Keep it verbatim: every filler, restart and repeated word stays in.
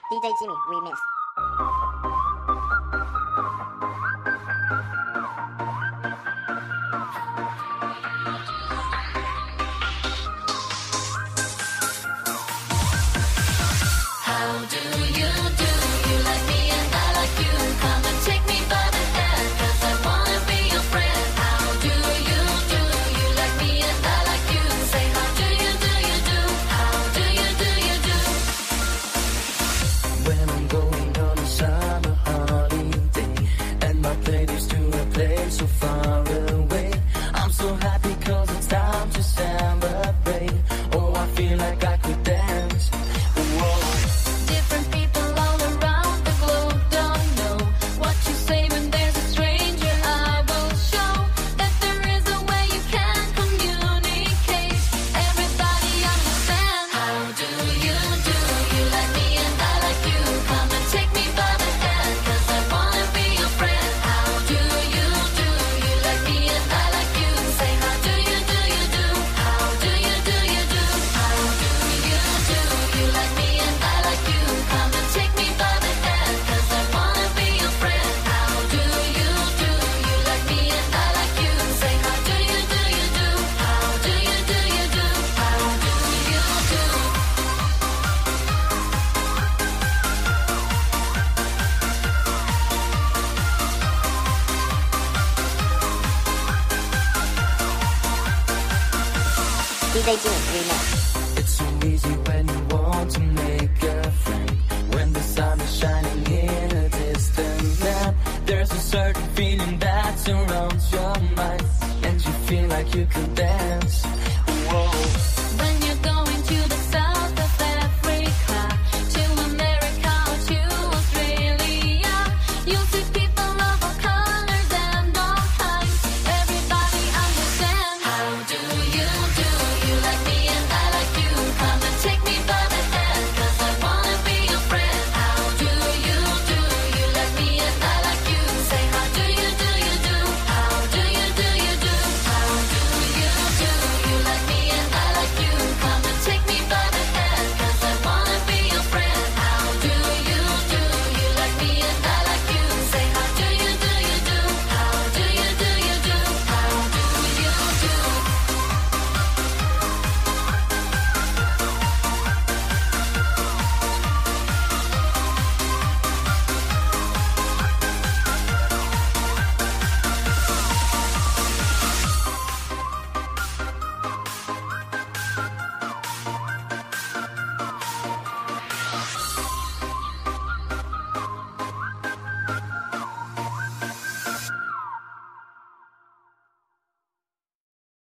D J Jimmy Remix。 So far away, I'm so happy cause it's time to celebrate. Oh, I feel like I could dance. Whoa. Different people all around the globe don't know what you say when there's a stranger. I will show that there is a way you can communicate. Everybody understand. How do you do? You like me and I like you. Come and take me by the hand, cause I wanna be your friend. How do you do? You like me and I like you. Say how do you do you do? How do you do you do? How do you do? You like me and I like you. Come and take me by the hand, cause I wanna be your friend. How do you do? You like me and I like you. Say how do you do you do? How do you do you do? How do you do? D J Jimmy Remix。